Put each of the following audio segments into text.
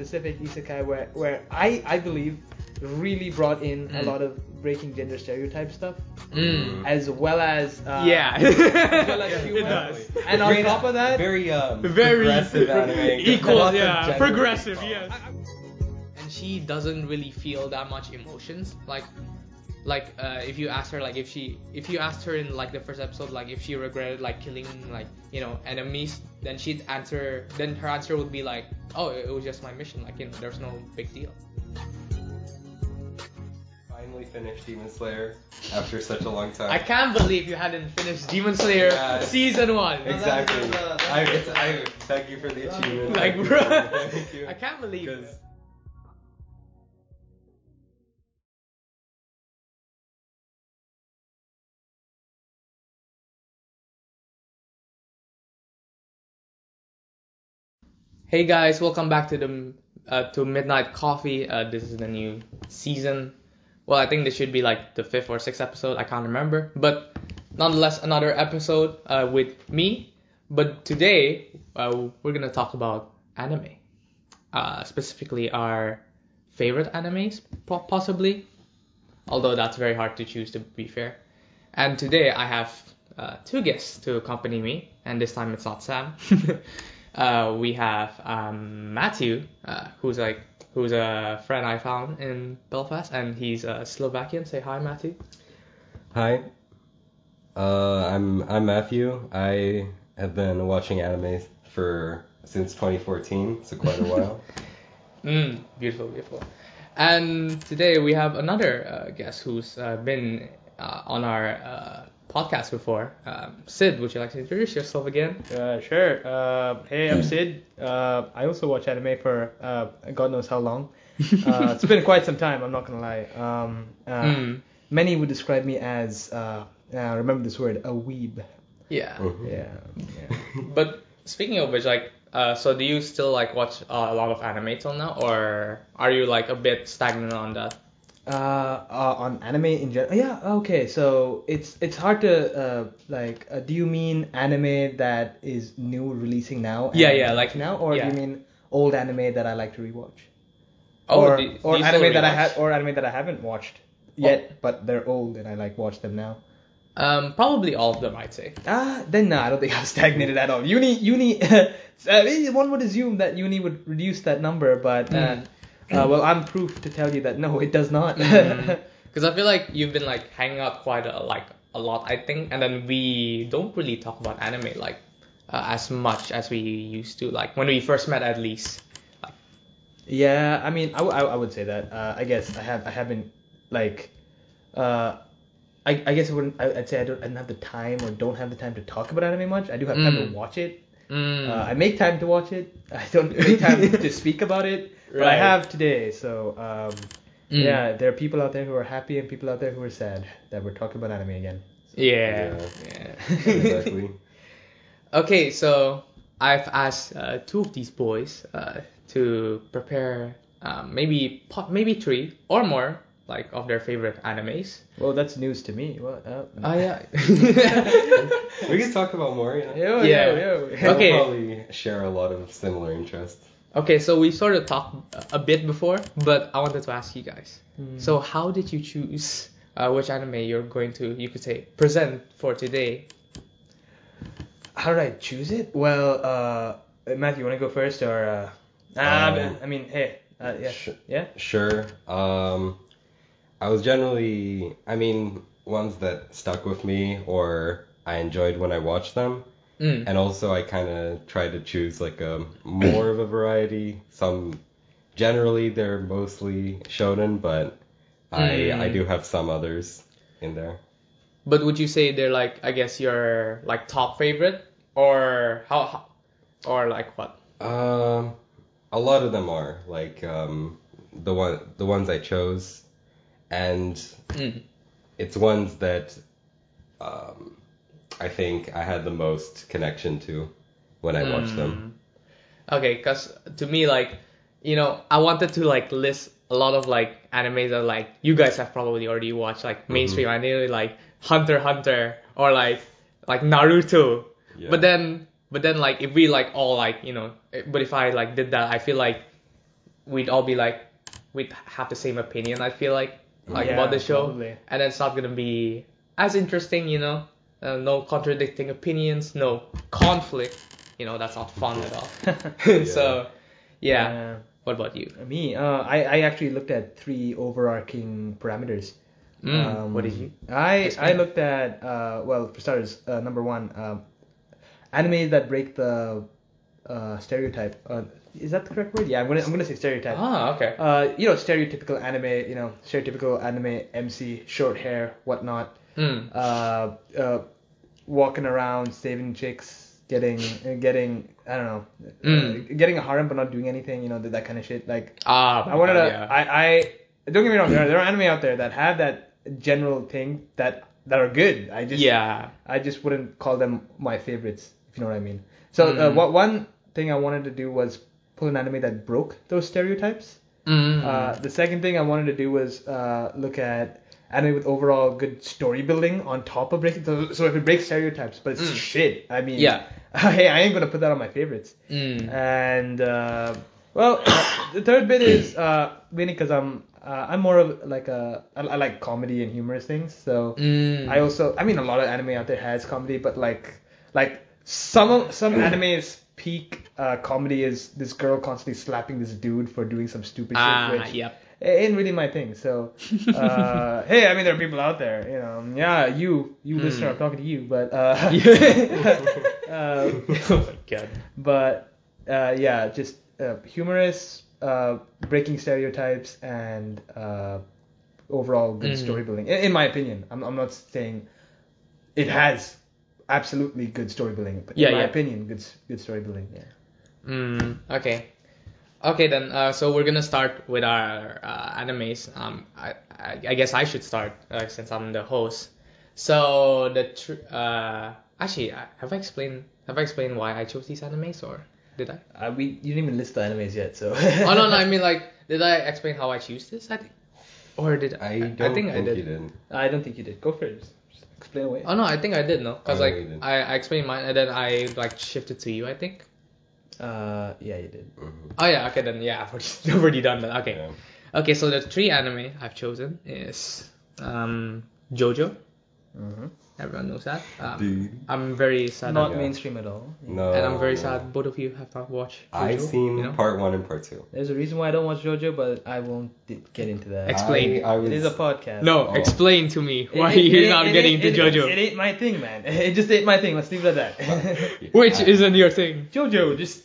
specific isekai where I believe really brought in a lot of breaking gender stereotype stuff, as well as as well as humor. It does. And on top of that, very Very progressive anime. equal, Lots of yeah, gender progressive, equality. yes. And she doesn't really feel that much emotions. If you ask her, like if you asked her in like the first episode, like if she regretted like killing like enemies, then her answer would be like, oh, it was just my mission, like there's no big deal. Finally finished Demon Slayer after such a long time. I can't believe you hadn't finished Demon Slayer season 1. Exactly. I thank you for the achievement. Like, Thank you. bro, Thank you. I can't believe it. Because Hey guys, welcome back to to Midnight Coffee. This is the new season. Well, I think this should be like the 5th or 6th episode. I can't remember, but nonetheless, another episode with me. But today, we're gonna talk about anime, specifically our favorite animes, possibly. Although that's very hard to choose, to be fair. And today I have 2 guests to accompany me, and this time it's not Sam. We have Matthew, who's a friend I found in Belfast, and he's Slovakian. Say hi, Matthew. hi, I'm Matthew. I have been watching anime since 2014, so quite a while. Beautiful. And today we have another guest who's been on our podcast before. Sid, would you like to introduce yourself again? Sure. Hey, I'm Sid. I also watch anime for God knows how long. It's been quite some time, I'm not gonna lie. Many would describe me as, remember this word, a weeb. Yeah. Yeah. But speaking of which, like, so do you still like watch a lot of anime till now, or are you like a bit stagnant on that? On anime in general, yeah. Okay, so it's hard to do you mean anime that is new, releasing now? Yeah, like now, or yeah. do you mean old anime that I like to rewatch? Oh, or do you or still anime that rewatch? anime that I haven't watched yet, but they're old and I like watch them now. Probably all of them, I'd say. Then no, I don't think I'm stagnated at all. Uni. One would assume that uni would reduce that number, but well, I'm proof to tell you that no, it does not. Because I feel like you've been like hanging out quite a lot, I think, and then we don't really talk about anime like as much as we used to, like when we first met at least. Yeah, I mean, I would say that. I guess I haven't like. I guess I'd say I didn't have the time or don't have the time to talk about anime much. I do have time to watch it. I make time to watch it. I don't make time to speak about it, but I Right. have today. So yeah, there are people out there who are happy and people out there who are sad that we're talking about anime again. Yeah. Exactly. Okay, so I've asked 2 of these boys to prepare maybe 3 or more like of their favorite animes. Well, that's news to me. What? Oh yeah. We can talk about more. Yo. Okay. We'll probably share a lot of similar interests. Okay, so we sort of talked a bit before, but I wanted to ask you guys. So how did you choose which anime you're going to, you could say, present for today? How did I choose it? Well, Matthew, you want to go first, or? I mean, hey, yeah. Sure. I was generally, ones that stuck with me or I enjoyed when I watched them. And also I kind of try to choose like a more of a variety. Generally they're mostly shonen, but I do have some others in there. But would you say they're like, I guess, your like top favorite, or how or like what? A lot of them are like the ones I chose, and it's ones that I think I had the most connection to when I watched them. Okay, because to me, like, I wanted to like list a lot of like animes that like you guys have probably already watched, like mainstream anime, like Hunter x Hunter or like Naruto. Yeah. But then like if we like all like but if I like did that, I feel like we'd all be like, we'd have the same opinion. I feel like about the show, probably. and it's not gonna be as interesting, no contradicting opinions, no conflict. That's not fun at all. So, yeah. What about you? Me, I actually looked at 3 overarching parameters. What did you? I looked at well, for starters, number 1, anime that break the stereotype. Is that the correct word? Yeah, I'm gonna say stereotype. Ah, okay. Stereotypical anime. Stereotypical anime MC, short hair, whatnot. Walking around, saving chicks, getting I don't know, getting a harem but not doing anything. That kind of shit. Like I wanted to. Yeah. I don't get me wrong. There are anime out there that have that general thing that are good. I just wouldn't call them my favorites, if you know what I mean. So one thing I wanted to do was pull an anime that broke those stereotypes. The second thing I wanted to do was look at anime with overall good story building on top of breaking. So if it breaks stereotypes, but it's shit, I mean, hey, I ain't gonna put that on my favorites. And the third bit is mainly because I'm more of like I like comedy and humorous things. So I also, I mean, a lot of anime out there has comedy, but like some anime's peak comedy is this girl constantly slapping this dude for doing some stupid shit, which it ain't really my thing. So hey, I mean, there are people out there, you listener, I'm talking to you, but oh my god. But just humorous, breaking stereotypes, and overall good story building. In my opinion, I'm not saying it has absolutely good story building, but in my opinion, good story building. Yeah. Okay then. So we're gonna start with our animes. I guess I should start since I'm the host. So actually, have I explained why I chose these animes, or did I? You didn't even list the animes yet, so. Oh no, I mean, like, did I explain how I choose this? I think, or did I think I did. You didn't. I don't think you did. Go for it. Just explain away. Oh no, I think I did. No, because I explained mine and then I shifted to you, I think. Yeah, you did. Mm-hmm. Oh yeah, okay then. Yeah, I've already done that. Okay. Yeah. Okay, so the 3 anime I've chosen is JoJo. Mm-hmm. Everyone knows that. Dude. I'm very sad. Not mainstream at all. No. And I'm very sad both of you have not watched JoJo. I've seen part 1 and part 2. There's a reason why I don't watch JoJo, but I won't get into that. Explain. It is a podcast. No, explain to me why you're not getting into JoJo. It ain't my thing, man. It just ain't my thing. Let's leave it at that. Which isn't your thing? JoJo, just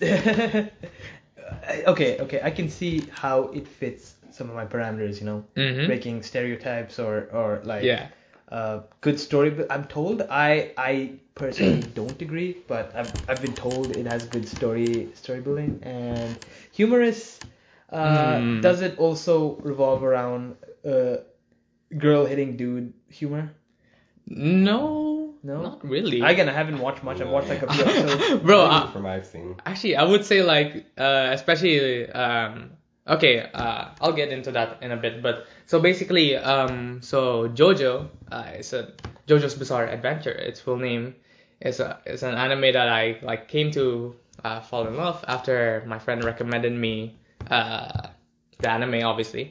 okay. I can see how it fits some of my parameters. Breaking stereotypes or like good story. But I'm told I personally don't agree, but I've been told it has good story building and humorous. Does it also revolve around girl hitting dude humor? No, not really. Again, I haven't watched much. I've watched like a few episodes. Bro, from I've seen. Actually, I would say like especially I'll get into that in a bit. But so basically, so JoJo is JoJo's Bizarre Adventure. Its full name is an anime that I came to fall in love after my friend recommended me the anime. Obviously,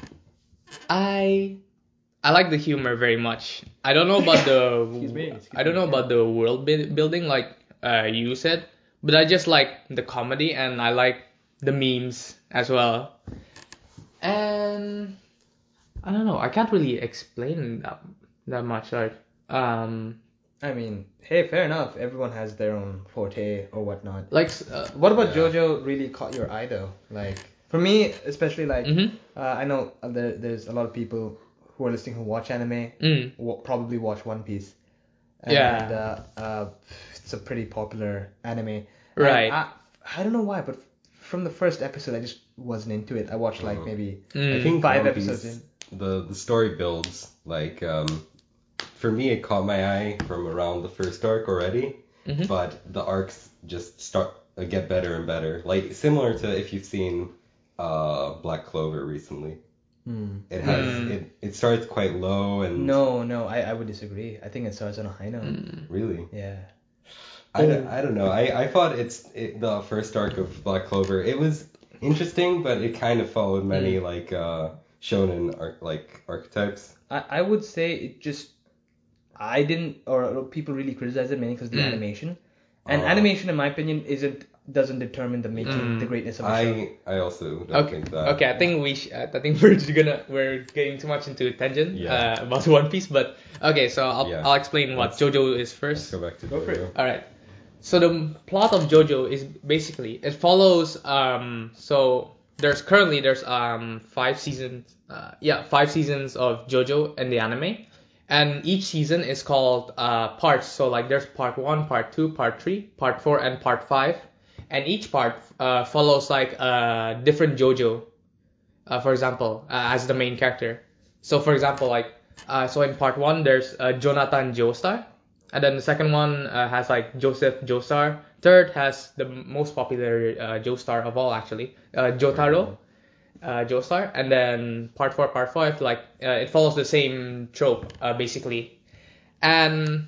I like the humor very much. I don't know about the I don't know about the world building like you said, but I just like the comedy and I like the memes as well. And I don't know. I can't really explain that much. Like I mean, hey, fair enough. Everyone has their own forte or whatnot. Like what about JoJo really caught your eye though? Like for me, especially like I know there's a lot of people who are listening who watch anime probably watch One Piece. And it's a pretty popular anime. Right. I don't know why, but from the first episode I just wasn't into it. I watched like maybe I think 5 episodes in. The story builds like for me it caught my eye from around the first arc already, but the arcs just get better and better. Like similar to if you've seen Black Clover recently. It has it starts quite low and no I would disagree. I think it starts on a high note. Really? Yeah. I don't know. I thought the first arc of Black Clover, it was interesting, but it kind of followed many like shonen archetypes. I would say it just I didn't or people really criticize it mainly because of the animation, and animation in my opinion doesn't determine the making the greatness of a show. I also don't think that. Okay, I think I think we're getting too much into tangent about One Piece, but okay, so I'll explain what JoJo is first. Let's go back to Go for JoJo. it. All right. So the plot of JoJo is basically it follows so there's 5 seasons 5 seasons of JoJo in the anime, and each season is called parts. So like there's part 1, part 2, part 3, part 4, and part 5, and each part follows like a different JoJo. For example, as the main character. So for example, like so in part 1 there's Jonathan Joestar. And then the second one has like Joseph Joestar. Third has the most popular Joestar of all, actually, Jotaro Joestar. And then part 4, part 5, like it follows the same trope basically. And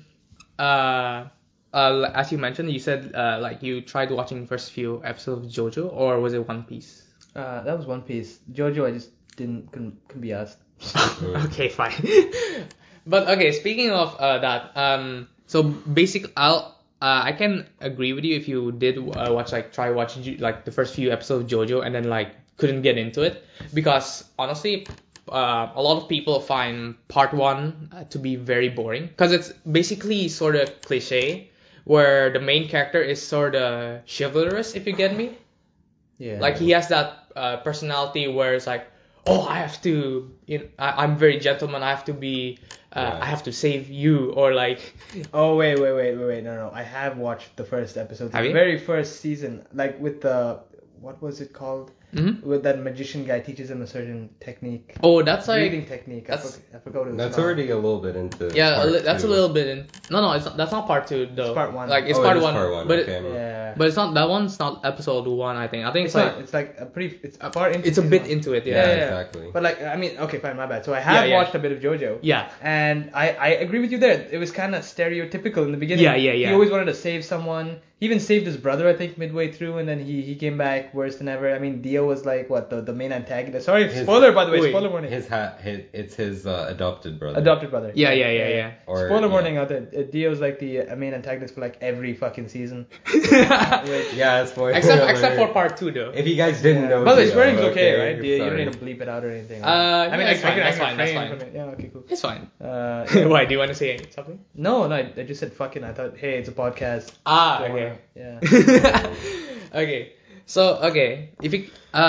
as you mentioned, you said like you tried watching the first few episodes of JoJo, or was it One Piece? That was One Piece. JoJo, I just couldn't be asked. Okay, fine. But okay, speaking of that, so basically, I can agree with you if you did try watch like the first few episodes of JoJo and then like couldn't get into it, because honestly, a lot of people find part 1 to be very boring because it's basically sort of cliche where the main character is sort of chivalrous, if you get me. Yeah. Like he has that personality where it's like, oh, I have to, I'm very gentleman. I have to be, I have to save you, or like. Oh wait, no. I have watched the first episode, Have the you? very first season, like with the what was it called? Mm-hmm. With that magician guy teaches him a certain technique. Oh, that's like. Breathing technique. I forgot what it was That's called. already a little bit into. Yeah, part that's 2. a little bit in. No, it's not, that's not part 2 though. It's part 1. Like it's Oh, part it is 1, part 1. but Okay. Yeah. but it's not, that one's not episode 1. I think It's like not. It's like a pretty. It's far into. it's a season bit 1. into it. Yeah, Yeah. exactly. But like, I mean, okay, fine, my bad. So I have Yeah. watched a bit of JoJo. Yeah. And I agree with you there. It was kind of stereotypical in the beginning. Yeah. He always wanted to save someone. He even saved his brother, I think, midway through, and then he came back worse than ever. I mean, Dio was like what the main antagonist. Sorry, spoiler by the way. Wait. Spoiler warning. It's his adopted brother. Adopted brother. Yeah. Or, Spoiler yeah. warning out there. Dio's like the main antagonist for like every fucking season. Yeah, spoiler. Except for part 2 though. If you guys didn't know. But the Dio, swearing's okay, right? Dio, you don't sorry. need to bleep it out or anything. I mean, I that's fine. can That's fine. refrain from it. Yeah, okay, cool. It's fine. Yeah. Why? Do you want to say something? No, I just said fucking. I thought, hey, it's a podcast. Okay. Yeah. Okay. So if you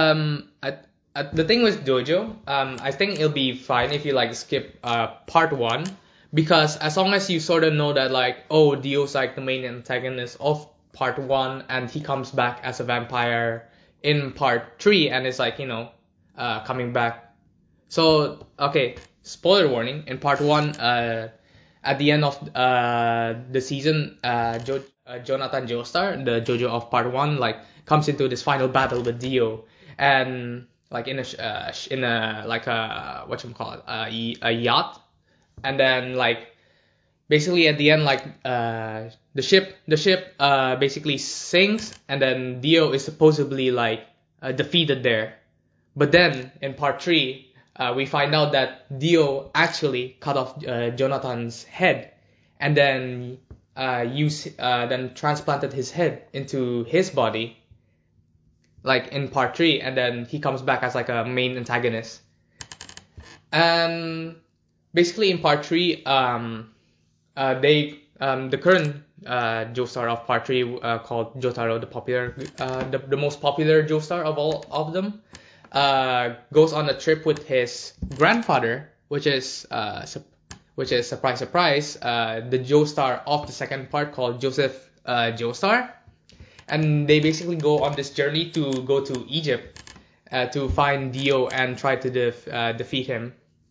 the thing with JoJo, I think it'll be fine if you like skip part 1, because as long as you sort of know that like, oh, Dio's like the main antagonist of part 1 and he comes back as a vampire in part 3 and it's like, coming back. So okay, spoiler warning, in part 1 at the end of the season, Jonathan Joestar, the JoJo of part 1, like comes into this final battle with Dio, and like in a like a whatchamacallit, a yacht, and then like basically at the end, like the ship basically sinks, and then Dio is supposedly like defeated there, but then in part 3 we find out that Dio actually cut off Jonathan's head, and then then transplanted his head into his body, like in part 3, and then he comes back as like a main antagonist. And basically in part 3, the current Joestar of part 3 called Jotaro, the most popular Joestar of all of them, goes on a trip with his grandfather, which is surprise, the Joestar of the second part called Joseph Joestar, and they basically go on this journey to go to Egypt to find Dio and try to defeat him.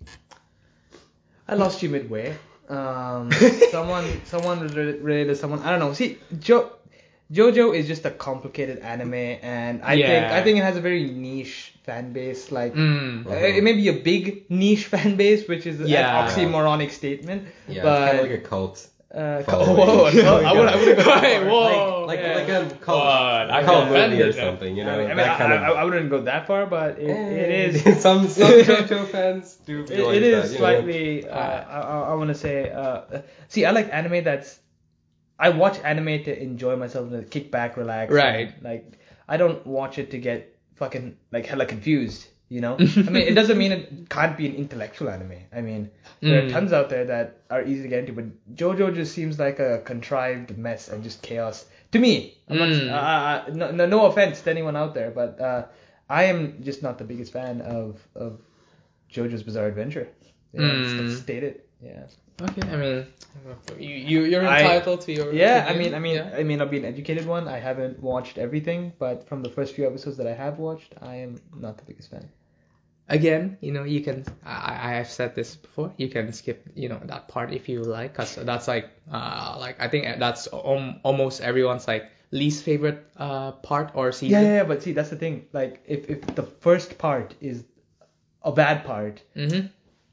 I lost you midway. Someone was related to someone. I don't know. See, JoJo is just a complicated anime, and I think it has a very niche fan base. Like it may be a big niche fan base, which is an oxymoronic statement. Yeah, but it's kind of like a cult. Following. I wouldn't go that far. Whoa. Like yeah. a Call of Duty or something, I mean, that kind of. I wouldn't go that far, but it is. some JoJo fans do. It is slightly. I want to say. See, I like anime that's. I watch anime to enjoy myself and to kick back, relax. Right. And, like, I don't watch it to get fucking like hella confused. I mean, it doesn't mean it can't be an intellectual anime. I mean, there are tons out there that are easy to get into, but JoJo just seems like a contrived mess and just chaos to me. I'm not, no offense to anyone out there, but I am just not the biggest fan of JoJo's Bizarre Adventure. Let's state it. Yeah. Okay, I mean, you're entitled to your opinion. I mean, I'll be an educated one. I haven't watched everything, but from the first few episodes that I have watched, I am not the biggest fan. Again, you can. I have said this before. You can skip, that part if you like, cause that's like I think that's almost everyone's like least favorite part or season. Yeah, but see, that's the thing. Like, if the first part is a bad part. Mm-hmm.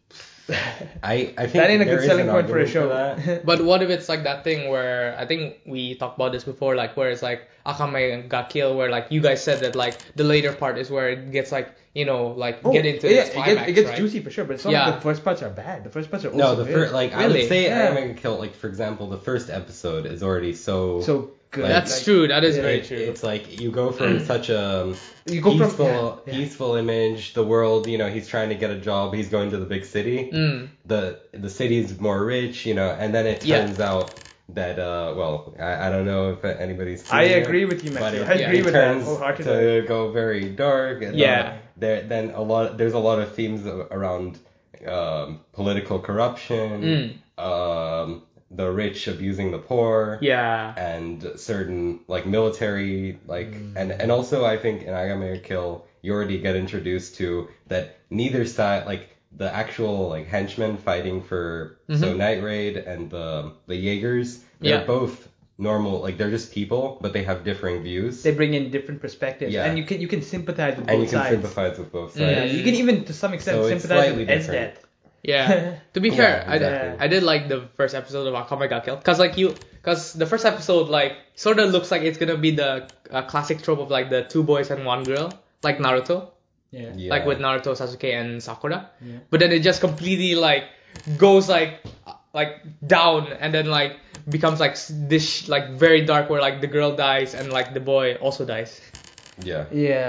I think that ain't a good selling point for a show. But what if it's like that thing where I think we talked about this before, like where it's like Akame got killed, where like you guys said that like the later part is where it gets like get into the climax, it gets right? juicy for sure, but it's not like the first parts are bad. The first parts are also the first I would say Akame got killed. Like for example, the first episode is already so good. Like, that's true. That is very true. It's like you go from such a peaceful image. The world, he's trying to get a job. He's going to the big city. The city is more rich, and then it turns out that I don't know if anybody's. I agree with you, Matthew. I agree with that wholeheartedly. To go very dark. And there's a lot of themes around political corruption. The rich abusing the poor, and certain like military and also I think in Agame Kill you already get introduced to that neither side, like the actual like henchmen fighting for so Night Raid and the Jaegers, they're both normal, like they're just people, but they have differing views. They bring in different perspectives, and you can sympathize with both sides. And you can sympathize with both sides. Yeah, you can even to some extent sympathize with Ed's death. Yeah. To be fair, exactly. I did like the first episode of Akame got killed, cause the first episode like sort of looks like it's gonna be the classic trope of like the two boys and one girl, like Naruto. Yeah. Like with Naruto, Sasuke, and Sakura. Yeah. But then it just completely like goes like down and then like becomes like this like very dark where like the girl dies and like the boy also dies. Yeah.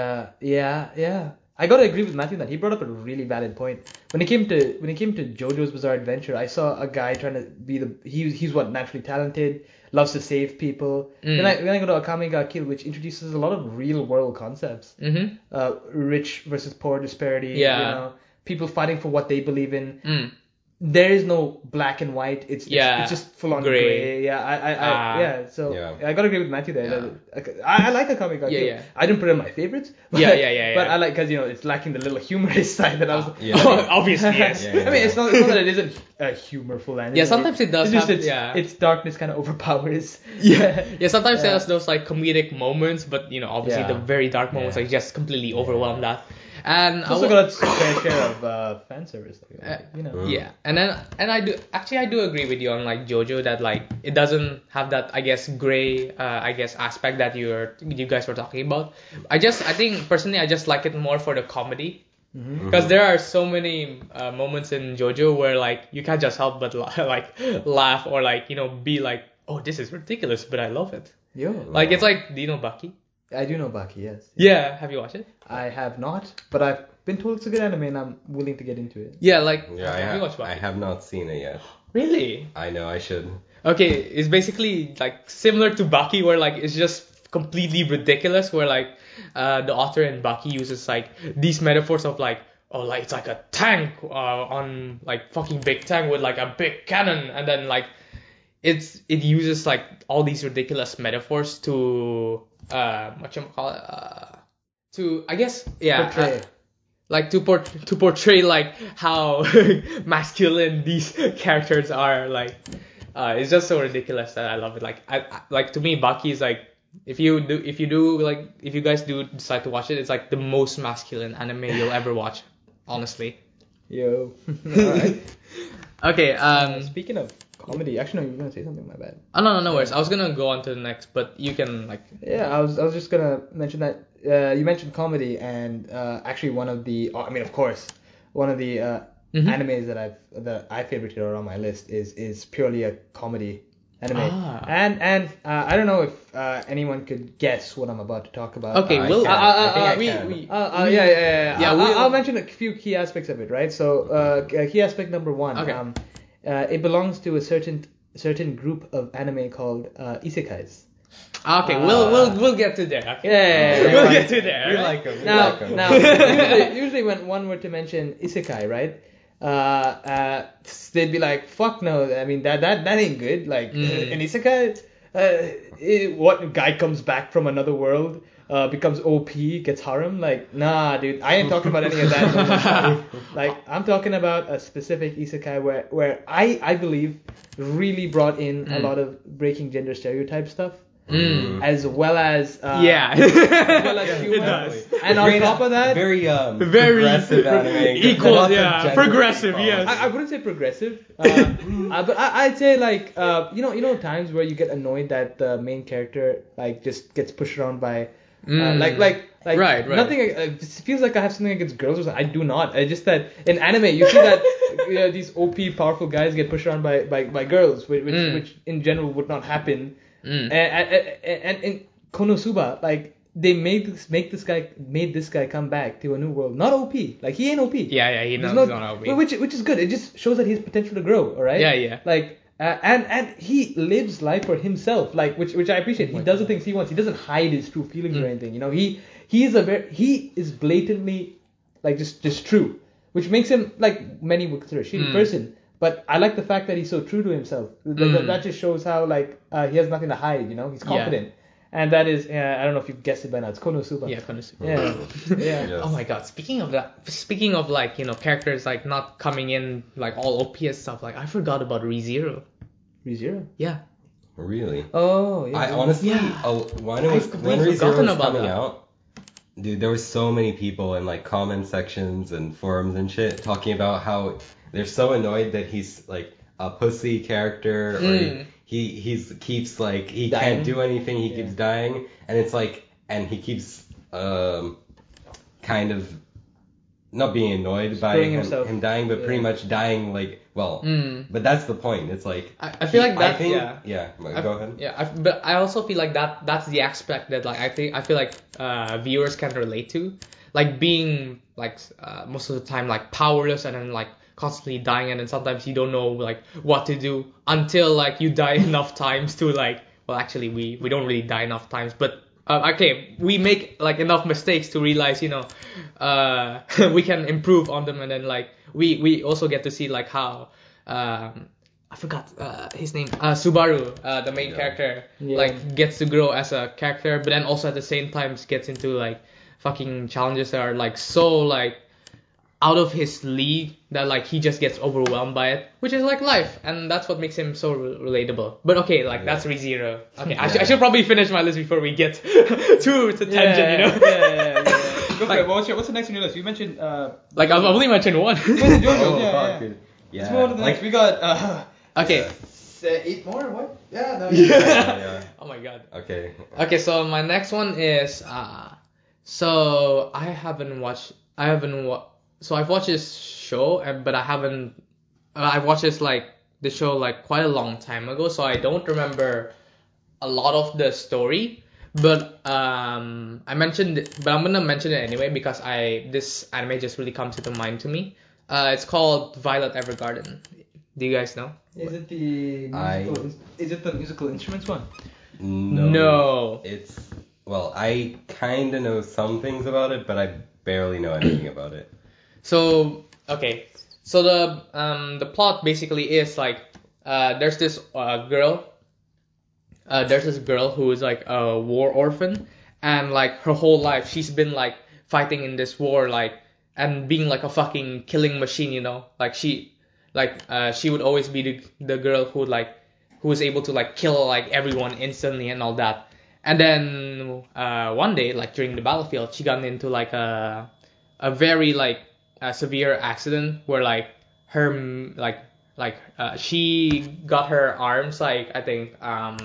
Yeah. I gotta agree with Matthew that he brought up a really valid point. When it came to JoJo's Bizarre Adventure, I saw a guy trying to be he's naturally talented, loves to save people. Then I go to Akame ga Kill, which introduces a lot of real world concepts. Rich versus poor disparity. People fighting for what they believe in. There is no black and white. It's just full on gray. So I gotta agree with Matthew there. I like Akame ga Kill. I didn't put it in my favorites. But, but I like because it's lacking the little humorous side that I was. Obviously yes. I mean, it's not that it isn't a humorful anime. Yeah, sometimes it does. Its darkness kind of overpowers. Sometimes there's those like comedic moments, but obviously the very dark moments like just completely overwhelm that. And it's also got its fair share of fan service. Yeah, and I do agree with you on like JoJo that like it doesn't have that I guess gray aspect that you guys were talking about. I think personally I just like it more for the comedy. Because there are so many moments in JoJo where like you can't just help but laugh or like be like, oh, this is ridiculous, but I love it. Like it's like, do you know Baki? I do know Baki, yes. Yeah, have you watched it? I have not, but I've been told it's a good anime and I'm willing to get into it. Yeah, like have you watched Baki? I have not seen it yet. Really? I know, I should. Okay, it's basically like similar to Baki where like it's just completely ridiculous where like the author in Baki uses like these metaphors of like, oh, like it's like a tank on like fucking big tank with like a big cannon, and then like it uses like all these ridiculous metaphors to to I guess portray. Like to portray like how masculine these characters are. Like it's just so ridiculous that I love it. Like like to me Baki is like if you guys do decide to watch it, it's like the most masculine anime you'll ever watch, honestly. Yo. Alright. Okay, speaking of comedy. Actually, no, you were gonna say something. My bad. Oh no worries. I was gonna go on to the next, but you can like. Yeah, I was just gonna mention that you mentioned comedy, and actually one of the, I mean, of course, one of the animes that I favorited or on my list is purely a comedy anime. And I don't know if anyone could guess what I'm about to talk about. Okay, I'll mention a few key aspects of it, right? So key aspect number one. Okay. It belongs to a certain group of anime called isekais. Okay, we'll get to there. Okay? Yeah, we'll get to there. We right? like them. Now, usually when one were to mention isekai, right? They'd be like, "Fuck no! I mean that ain't good." Like an isekai, what guy comes back from another world, becomes OP, gets harem? Like, nah, dude, I ain't talking about any of that. Like, I'm talking about a specific isekai where I believe really brought in a lot of breaking gender stereotype stuff. As well as humor. It does. And on top of that, very progressive anime. Equal, Lots of yeah, gender progressive, equality. yes. I wouldn't say progressive, but I'd say like you know times where you get annoyed that the main character like just gets pushed around by like right. Nothing. It feels like I have something against girls or something. I do not. It's just that in anime you see that these OP powerful guys get pushed around by girls, which in general would not happen. And in Konosuba, like they made this guy come back to a new world, not OP. Like he ain't OP. Yeah, he knows There's he's not OP. Which is good. It just shows that he has potential to grow. All right. Yeah. Like and he lives life for himself. Like which I appreciate. He does the things he wants. He doesn't hide his true feelings or anything. You know, he is blatantly like just true, which makes him like many would consider a shitty person. But I like the fact that he's so true to himself. That just shows how like he has nothing to hide. You know, he's confident. And that is, I don't know if you've guessed it by now. It's Konosuba. Yeah, Konosuba. Yeah. Yes. Oh my god, speaking of like, characters like not coming in like all OP and stuff, like I forgot about ReZero. ReZero? Yeah. Really? Oh, yeah. I honestly, when ReZero was coming out, dude, there were so many people in like comment sections and forums and shit talking about how they're so annoyed that he's like a pussy character or he keeps like he dying. Can't do anything, he keeps dying, and it's like, and he keeps kind of not being annoyed by him dying, but pretty much dying like, well, but that's the point. It's like I feel like that. Go ahead. Yeah, but I also feel like that's the aspect that like I feel like viewers can relate to, like being like most of the time like powerless and then like constantly dying, and then sometimes you don't know like what to do until like you die enough times to like, well actually we don't really die enough times, but okay, we make like enough mistakes to realize we can improve on them, and then like we also get to see like how I forgot his name, Subaru, the main character, like gets to grow as a character, but then also at the same time gets into like fucking challenges that are like so like out of his league that like he just gets overwhelmed by it, which is like life, and that's what makes him so relatable. But okay, like that's ReZero. Okay, I should probably finish my list before we get too to tangent, Yeah. Go for it. What's the next on your list? You mentioned like I've only mentioned one. JoJo. Let's move on to the next. We got okay. 8 more. What? Yeah. Yeah. Oh my god. Okay. So my next one is so So I've watched this show, but I haven't. I watched this like the show like quite a long time ago, so I don't remember a lot of the story. But I'm gonna mention it anyway because this anime just really comes to mind to me. It's called Violet Evergarden. Do you guys know? Is it the musical? Is it the musical instruments one? No. It's I kind of know some things about it, but I barely know anything about it. So okay, so the plot basically is like there's this girl. There's this girl who is like a war orphan, and like her whole life she's been like fighting in this war, like, and being like a fucking killing machine, like she would always be the girl who was able to like kill like everyone instantly and all that. And then one day, like during the battlefield, she got into like a very like a severe accident where like her she got her arms like I think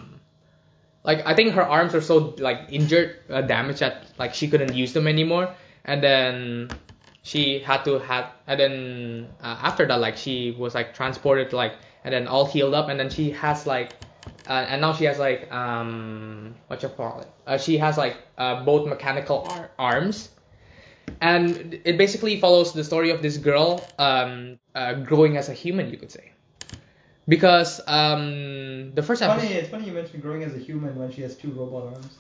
her arms were so like injured, damaged that like she couldn't use them anymore, and then she had to and then after that like she was like transported like and then all healed up, and then she has like and now she has like what you call it? She has like both mechanical arms, and it basically follows the story of this girl growing as a human, you could say. Because the first episode. It's funny you mentioned growing as a human when she has 2 robot arms.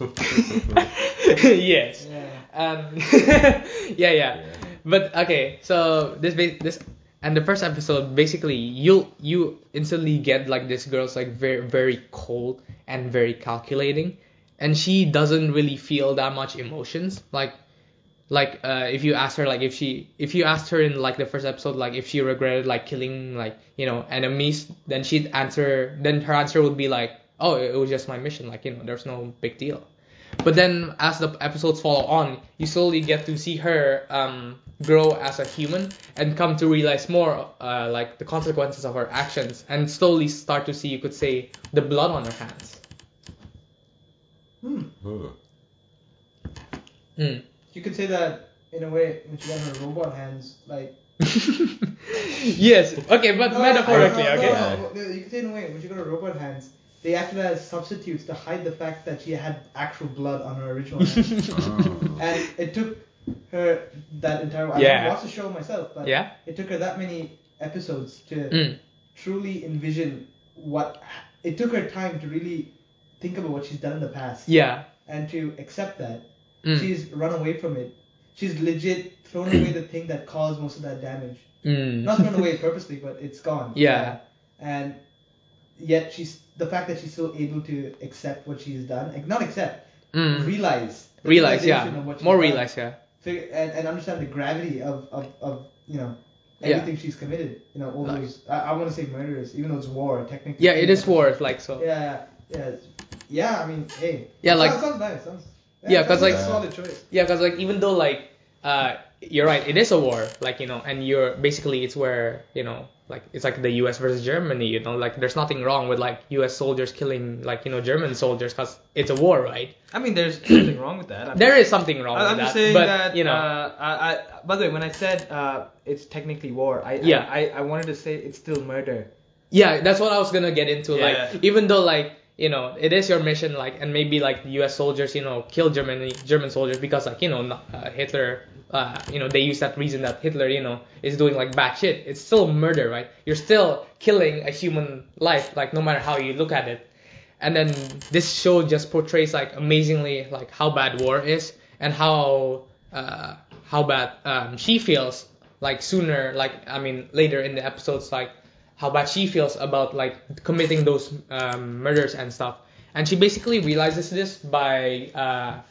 Yes. Yeah. Yeah. But okay, so this and the first episode basically you instantly get like this girl's like very very cold and very calculating, and she doesn't really feel that much emotions if you ask her like if you asked her in like the first episode like if she regretted like killing like enemies, then her answer would be like, oh, it was just my mission, like there's no big deal. But then as the episodes follow on, you slowly get to see her grow as a human and come to realize more like the consequences of her actions, and slowly start to see, you could say, the blood on her hands. You could say that in a way when she got her robot hands, like. Yes. Okay, but metaphorically, okay. No. You could say in a way when she got her robot hands, they acted as substitutes to hide the fact that she had actual blood on her original hands. And it took her that entire. I haven't watched the show myself, but it took her that many episodes to truly envision what. It took her time to really think about what she's done in the past. Yeah. And to accept that. She's run away from it. She's legit thrown away the thing that caused most of that damage. Not thrown away purposely, but it's gone. Yeah. And yet the fact that she's still able to accept what she's done, not accept, realize, yeah, of what she's more done, realize, yeah, and understand the gravity of everything she's committed. All those I want to say murders, even though it's war technically. Yeah, it is war, like so. Yeah. I mean, hey. Yeah, like. Sounds nice. Because like. Solid choice. Yeah, because like even though like you're right, it is a war, like and you're basically it's where like it's like the U.S. versus Germany, like there's nothing wrong with like U.S. soldiers killing like German soldiers because it's a war, right? I mean, there's something wrong with that. There is something wrong with that. I'm just saying that by the way, when I said it's technically war, I wanted to say it's still murder. Yeah, that's what I was gonna get into. Yeah. Like even though like it is your mission, like, and maybe like the U.S. soldiers, kill German soldiers because like Hitler. They use that reason that Hitler, is doing like bad shit. It's still murder, right? You're still killing a human life, like no matter how you look at it. And then this show just portrays like amazingly like how bad war is and how bad she feels like sooner, like later in the episodes, like how bad she feels about like committing those murders and stuff. And she basically realizes this by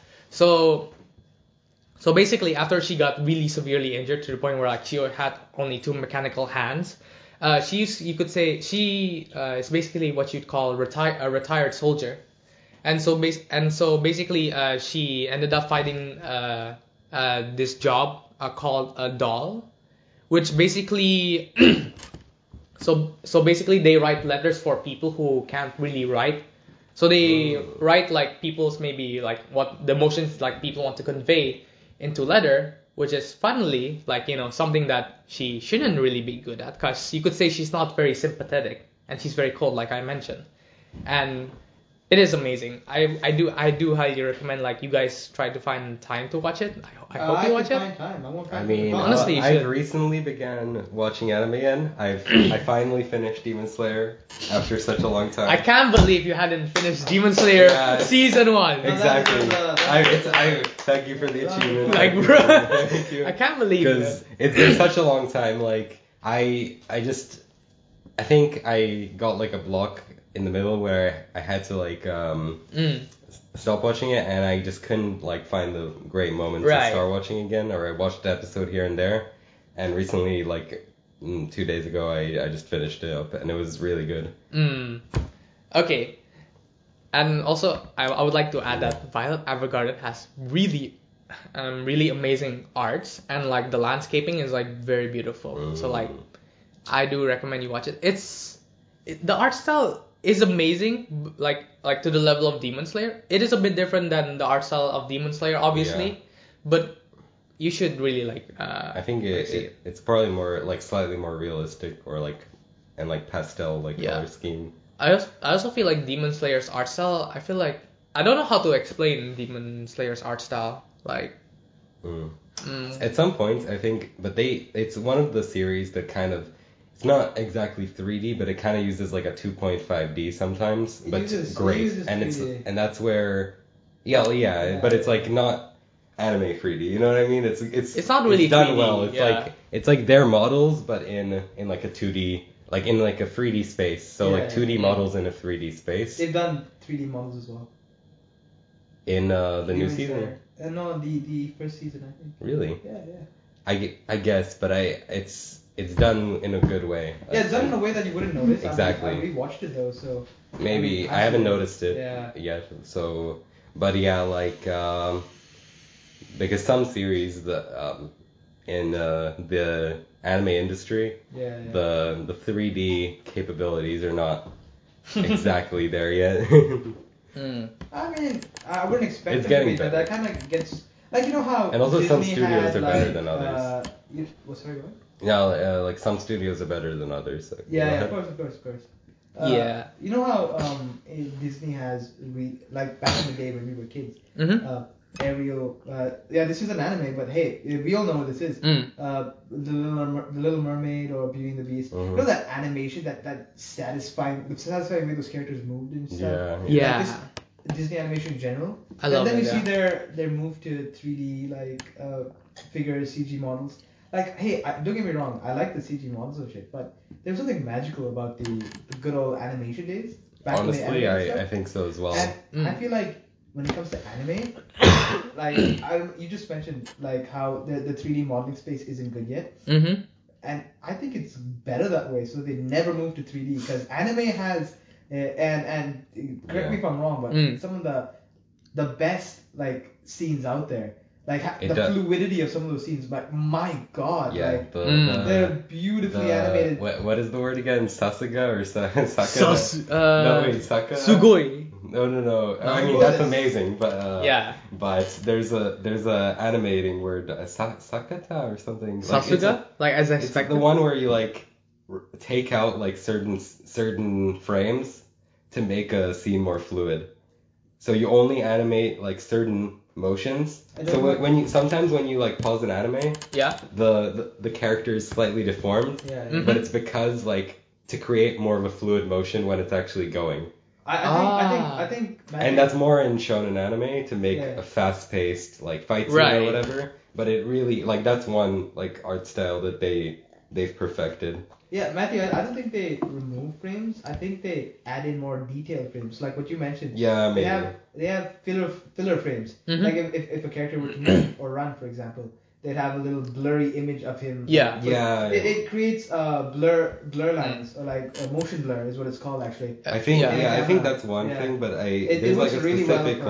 So basically, after she got really severely injured to the point where like she had only 2 mechanical hands, you could say she is basically what you'd call a retired soldier, and so basically she ended up fighting this job called a doll, which basically so basically they write letters for people who can't really write. So they write like people's maybe like what the emotions like people want to convey into letter, which is funnily like something that she shouldn't really be good at, because you could say she's not very sympathetic and she's very cold, like I mentioned. And it is amazing. I do highly recommend like you guys try to find time to watch it. I hope you watch it. Find time. I won't find honestly, you should. I've recently began watching anime again. I finally finished Demon Slayer after such a long time. I can't believe you hadn't finished Demon Slayer season 1. Exactly. I thank you for the achievement. Like, bro, thank you. I can't believe it. Because it's been such a long time. Like I think I got like a block in the middle where I had to like stop watching it, and I just couldn't like find the great moments to start watching again, or I watched the episode here and there. And recently, like 2 days ago, I just finished it up, and it was really good. Okay. And also, I would like to add that Violet Evergarden has really amazing arts, and like the landscaping is like very beautiful. So like I do recommend you watch it. The art style is amazing, like to the level of Demon Slayer. It is a bit different than the art style of Demon Slayer, obviously, but you should really I think it's probably more like slightly more realistic or like and like pastel color scheme. I also feel like Demon Slayer's art style. I feel like I don't know how to explain Demon Slayer's art style. Like, at some points I think, but it's one of the series that kind of. It's not exactly 3D, but it kind of uses like a 2.5D sometimes, but great. And that's where, but it's like not anime 3D. You know what I mean? It's not really done 3D, well. It's like their models, but in like a 2D, like in like a 3D space. So like 2D models in a 3D space. They've done 3D models as well. In the new season. No, the first season I think. Really? Yeah. I guess, but It's done in a good way. Yeah, it's done in a way that you wouldn't notice. Exactly. I rewatched it though, so. Maybe I haven't noticed it yet. So, but yeah, like because some series in the anime industry, the 3D capabilities are not exactly there yet. I mean, I wouldn't expect it's it getting to be, but that kind of gets like you know how. And also Disney some studios are better like, than others. Sorry, what? Yeah, like some studios are better than others. So, of course. You know how Disney has like back in the day when we were kids, Ariel. This is an anime, but hey, we all know what this is. The Little Mermaid or Beauty and the Beast. You know that animation, that satisfying way those characters moved and stuff. Yeah. Like Disney animation in general. I love it. And then you see their move to 3D figures, CG models. Like, hey, don't get me wrong, I like the CG models and shit, but there's something magical about the good old animation days. Honestly, I think so as well. And I feel like when it comes to anime, you just mentioned like how the 3D modeling space isn't good yet. And I think it's better that way, so they never move to 3D because anime has, and correct me if I'm wrong, but some of the best like scenes out there. Like fluidity of some of those scenes, but my god, they're beautifully animated. What is the word again? Sasuga or Saka? No, wait, Saka. Sugoi. No. I mean that's amazing, but But there's a animating word, Sakata or something. Sasuga, like as I expected. The one where you like take out like certain frames to make a scene more fluid. So you only animate like certain motions. So when you like pause an anime, the character is slightly deformed, but it's because like to create more of a fluid motion when it's actually going. I think and that's more in shonen anime to make a fast-paced like fight scene or whatever. But it really like that's one like art style that they've perfected. Yeah, Matthew, I don't think they remove frames. I think they add in more detailed frames, like what you mentioned. Yeah, maybe. They have filler frames. Like if a character were to move or run, for example, they'd have a little blurry image of him. It creates blur lines or like motion blur is what it's called actually. I think I think that's one thing, but there's like a specific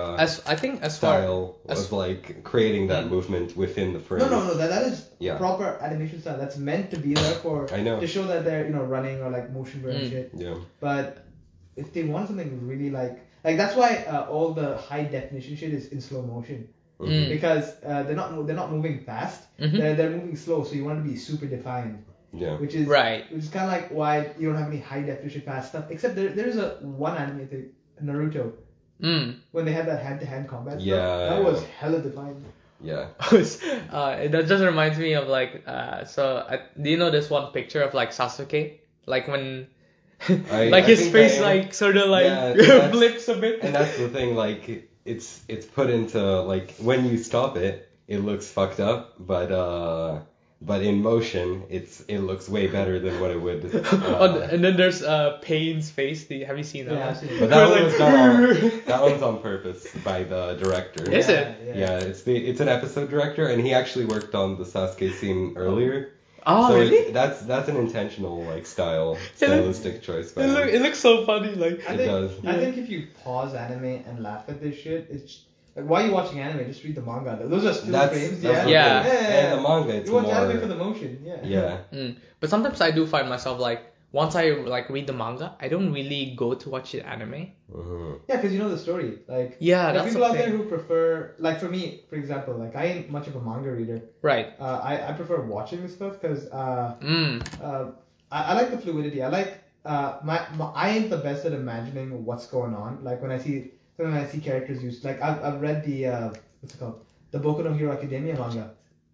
style of like creating that movement within the frame. No, that is proper animation style. That's meant to be there to show that they're running or like motion blur and shit. Yeah. But if they want something really like that's why all the high definition shit is in slow motion. Because they're not moving fast. They're moving slow, so you want to be super defined. Yeah. Which is kind of like why you don't have any high definition fast stuff. Except there's one anime, I think, Naruto. When they had that hand-to-hand combat stuff, that was hella defined. Yeah. That just reminds me of like do you know this one picture of like Sasuke, like when his face like sort of like flips a bit. And that's the thing, like it's put into like when you stop it, it looks fucked up, but in motion, it looks way better than what it would. And then there's Pain's face. Have you seen that? Yeah, I've seen it. But that one's on purpose by the director. Is it? Yeah, it's an episode director, and he actually worked on the Sasuke scene earlier. Oh, so really? That's an intentional like stylistic choice. By it looks so funny. Like I think if you pause anime and laugh at this shit, it's Like, why are you watching anime? Just read the manga. Those are still frames. That's Yeah. And the manga, it's you watch more. anime for the motion. Yeah. Yeah. But sometimes I do find myself like once I like read the manga, I don't really go to watch the anime. Mm-hmm. Yeah, because you know the story. Like, Yeah, there are that's people the out there thing. who prefer, like for me, for example, like I ain't much of a manga reader. Right. I prefer watching this stuff because Mm. I like the fluidity. I like my I ain't the best at imagining what's going on. Like when I see characters used, like I've read the what's it called, the Boku no Hero Academia manga.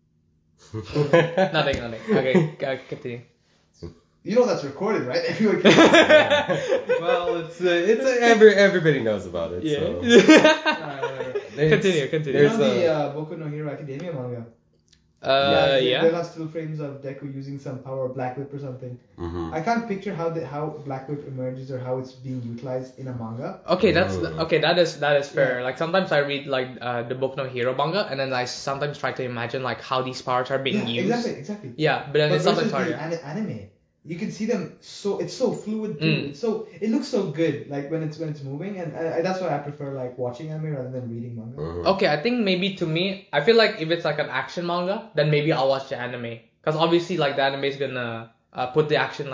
Nothing. Okay, continue. You know that's recorded, right? Everyone can. Well, everybody knows about it. So. Continue. You know the Boku no Hero Academia manga? Yeah. There are still frames of Deku using some power of Black Whip or something. Mm-hmm. I can't picture how Black Whip emerges or how it's being utilized in a manga. Okay, that is fair. Yeah. Like sometimes I read like the Boku no Hero manga, and then I sometimes try to imagine like how these powers are being used. Exactly. Yeah, but then But it's sometimes versus harder. the anime, you can see them it's so fluid too. It looks so good like when it's moving, and that's why I prefer like watching anime rather than reading manga. Mm-hmm. Okay, I think maybe to me, I feel like if it's like an action manga, then maybe I'll watch the anime. Because obviously, like the anime is gonna put the action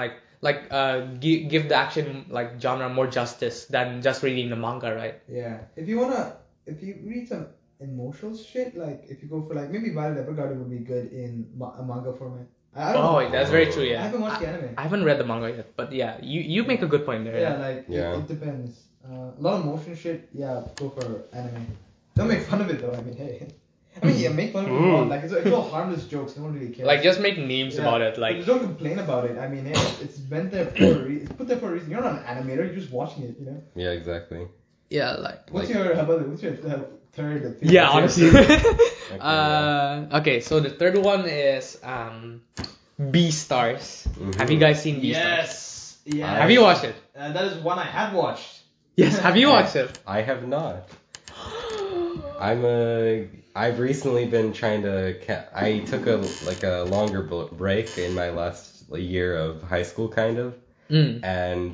give the action like genre more justice than just reading the manga, right? Yeah. If you read some emotional shit, like if you go for like maybe Violet Evergarden would be good in a manga format. I don't know. That's very true. Yeah. I haven't watched the anime. I haven't read the manga yet, but yeah, you make a good point there. Yeah, like it depends. A lot of motion shit. Yeah, go for anime. Don't make fun of it though. I mean, hey. Make fun of it. If you want. Like it's all harmless jokes. No one really cares. Like just make memes about it. Like but don't complain about it. I mean, hey, it's meant there for a reason. It's put there for a reason. You're not an animator. You're just watching it. You know. Yeah, exactly. yeah, like. What's your third? Yeah, honestly. Okay, okay, so the third one is Beastars. Mm-hmm. Have you guys seen Beastars? Yes. Yeah. Have you watched it? That is one I have watched. Yes. Have you watched it? I have not. I've recently been trying to. I took a longer break in my last year of high school, kind of, and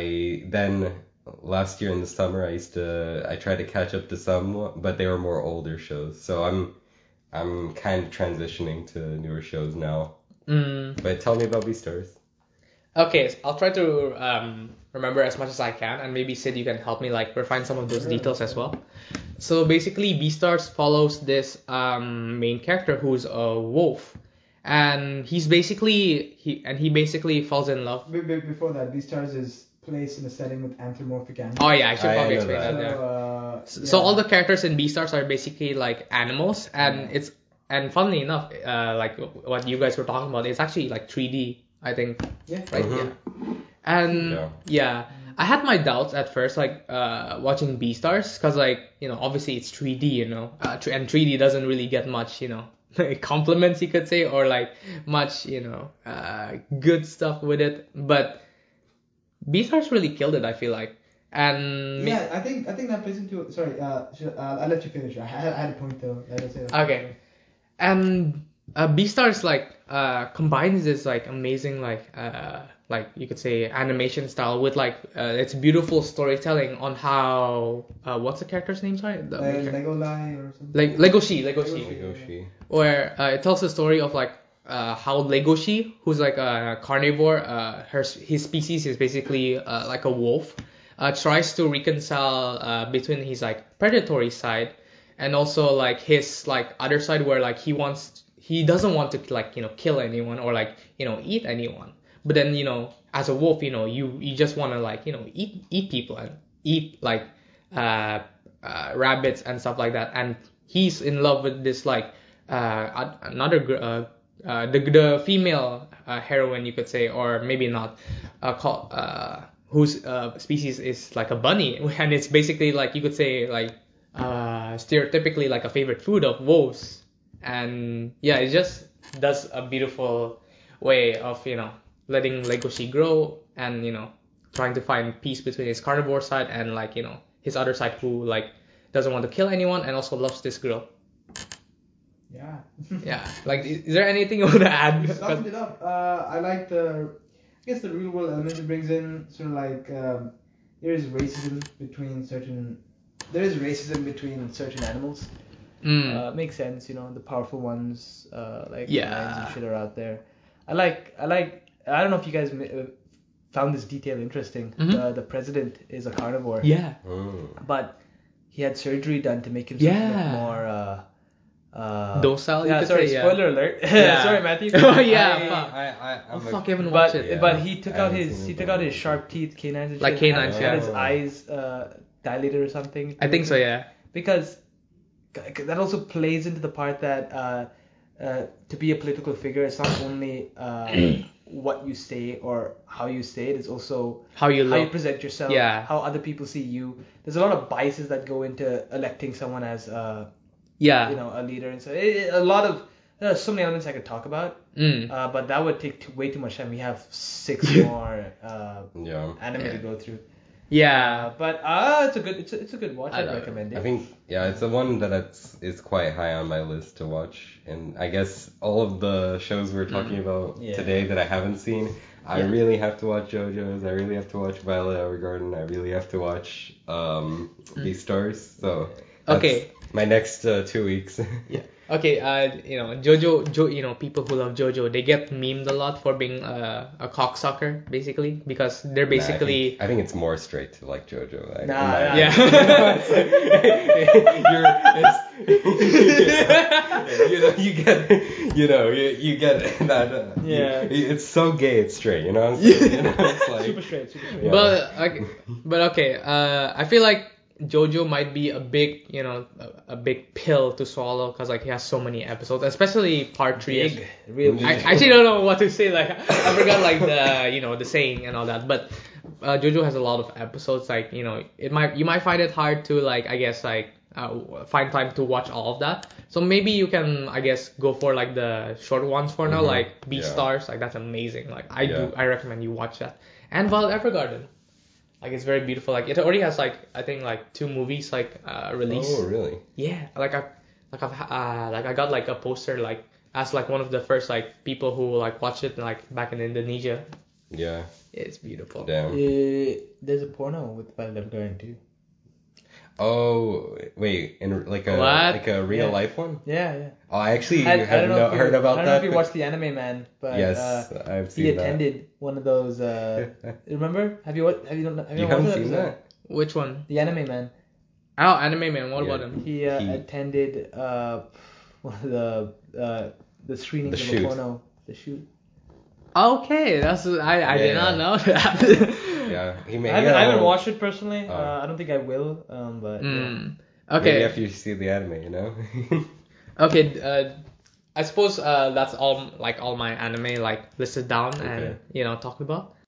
last year in the summer I tried to catch up to some, but they were more older shows. So I'm kind of transitioning to newer shows now. But tell me about Beastars. Okay, so I'll try to remember as much as I can, and maybe Sid, you can help me like refine some of those details as well. So basically, Beastars follows this main character who's a wolf, and he basically falls in love. Before that, Beastars is placed in a setting with anthropomorphic animals. Oh yeah, I should probably explain know that. So, So all the characters in Beastars are basically like animals, and funnily enough, like what you guys were talking about, it's actually like 3D, I think. Yeah. Right. Mhm. Yeah. And I had my doubts at first, like watching Beastars, because like obviously it's 3D, and 3D doesn't really get much, compliments you could say, or like much, good stuff with it. But Beastars really killed it, I feel like. And I think that plays into. Sorry, I'll let you finish. I had a point though. Let us say that. Okay. And Beastars combines this like amazing like you could say animation style with like its beautiful storytelling on how what's the character's name? Sorry, Legoshi or something. Legoshi. Where it tells the story of like how Legoshi, who's like a carnivore, his species is basically like a wolf, tries to reconcile between his like predatory side and also like his like other side where like he doesn't want to like kill anyone or like eat anyone, but then as a wolf you just want to like eat people and eat like rabbits and stuff like that, and he's in love with this like the female heroine, you could say, or maybe not, whose species is like a bunny, and it's basically like you could say like stereotypically like a favorite food of wolves. And yeah, it just does a beautiful way of letting Legoshi grow and trying to find peace between his carnivore side and like his other side who like doesn't want to kill anyone and also loves this girl. Yeah. Yeah. Like, is there anything you want to add? You summed it up. I like the real world element it brings in. Sort of like there is racism between certain there is racism between certain animals. Makes sense, the powerful ones like lions and shit are out there. I don't know if you guys found this detail interesting. The president is a carnivore. Yeah. But he had surgery done to make himself look more docile. Yeah, sorry, spoiler alert. Sorry, Matthew. Oh yeah. Fuck, I haven't watched it. But he took out his sharp teeth, canines and shit. Like canines, had his eyes dilated or something. I think so, yeah. Because that also plays into the part that to be a political figure, it's not only what you say or how you say it, it's also how you present yourself, how other people see you. There's a lot of biases that go into electing someone as a leader, and so there's so many elements I could talk about, but that would take way too much time. We have 6 more anime to go through. Yeah, but it's a good watch. I'd recommend it. I think it's the one that is quite high on my list to watch, and I guess all of the shows we're talking about today that I haven't seen, I really have to watch JoJo's. I really have to watch Violet Evergarden. I really have to watch Beastars. So that's my next 2 weeks. Yeah. Okay, JoJo, people who love JoJo, they get memed a lot for being a cocksucker, basically, because they're basically... I think it's more straight to like JoJo. You get that. It's so gay, it's straight, you know? It's like, super straight. Yeah. But okay, I feel like JoJo might be a big, a big pill to swallow because like he has so many episodes, especially part 3. I actually don't know what to say. Like I forgot like the saying and all that. But JoJo has a lot of episodes. Like you might find it hard to like find time to watch all of that. So maybe you can go for like the short ones for now, like Beastars. Like that's amazing. Like I recommend you watch that. And Violet Evergarden. Like it's very beautiful. Like it already has like I think like 2 movies like released. Oh really? Yeah. I got like a poster like as like one of the first like people who like watched it like back in Indonesia. Yeah. It's beautiful. Damn. There's a porno with Violet Evergarden too. Oh wait, in like a real life one? Yeah. Oh, I actually have not heard about that. I don't know if you watched The Anime Man, but yes, I've seen he attended one of those. Remember? Have you haven't seen that? Which one? The Anime Man. Oh, Anime Man. What about him? He attended one of the screenings of a porno. The shoot. Okay, I did not know that. Yeah, I haven't watched it personally. I don't think I will. But okay. Maybe after you see the anime, Okay. I suppose that's all my anime like listed down and talked about.